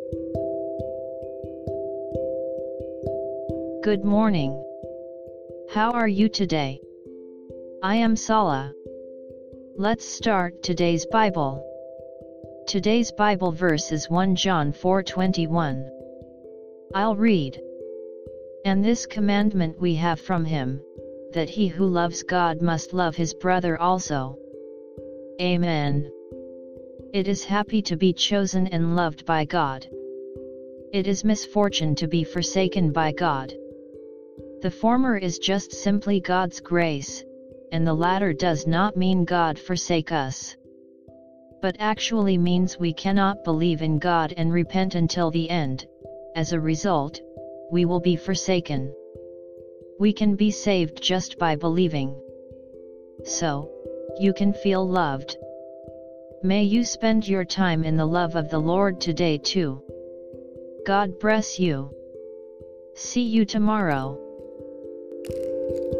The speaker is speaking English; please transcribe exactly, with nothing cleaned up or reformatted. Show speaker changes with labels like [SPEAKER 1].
[SPEAKER 1] Good morning. How are you today? I am Sala. Let's start today's Bible. Today's Bible verse is First John four twenty-one. I'll read. And this commandment we have from him, that he who loves God must love his brother also. Amen. It is happy to be chosen and loved by God. It is misfortune to be forsaken by God. The former is just simply God's grace, and the latter does not mean God forsake us, but actually means we cannot believe in God and repent until the end. As a result, we will be forsaken. We can be saved just by believing. So, you can feel loved. May you spend your time in the love of the Lord today too. God bless you. See you tomorrow.